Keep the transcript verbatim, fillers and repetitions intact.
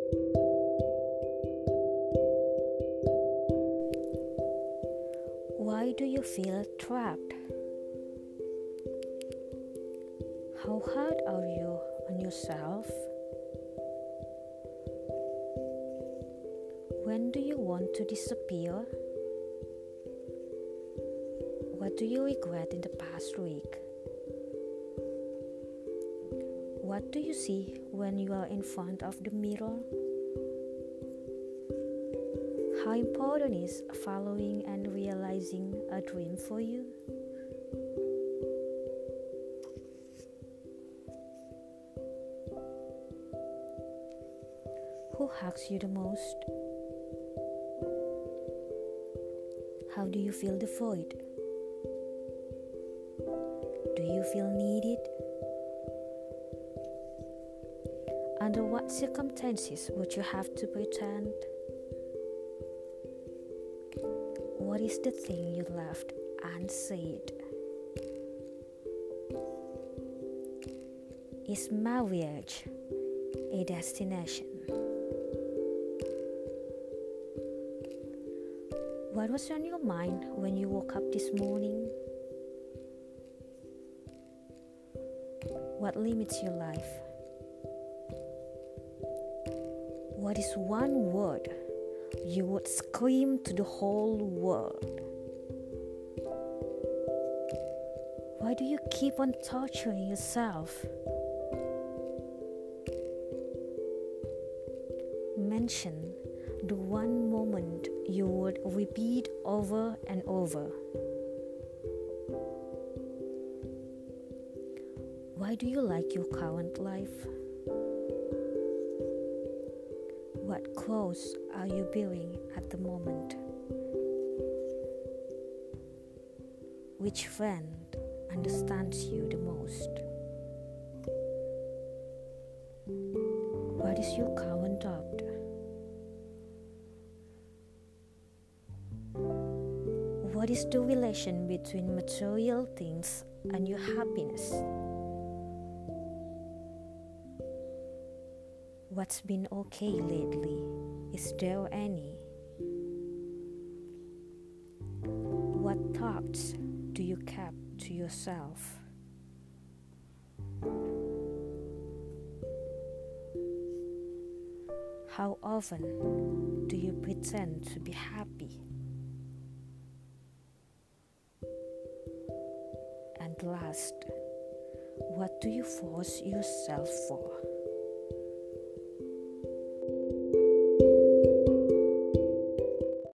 Why do you feel trapped? How hard are you on yourself? When do you want to disappear? What do you regret in the past week? What do you see when you are in front of the mirror? How important is following and realizing a dream for you? Who hugs you the most? How do you feel the void? Do you feel needed? Under what circumstances would you have to pretend? What is the thing you left unsaid? Is marriage a destination? What was on your mind when you woke up this morning? What limits your life? What is one word you would scream to the whole world? Why do you keep on torturing yourself? Mention the one moment you would repeat over and over. Why do you like your current life? What clothes are you wearing at the moment? Which friend understands you the most? What is your current doubt? What is the relation between material things and your happiness? What's been okay lately? Is there any? What thoughts do you keep to yourself? How often do you pretend to be happy? And last, what do you force yourself for?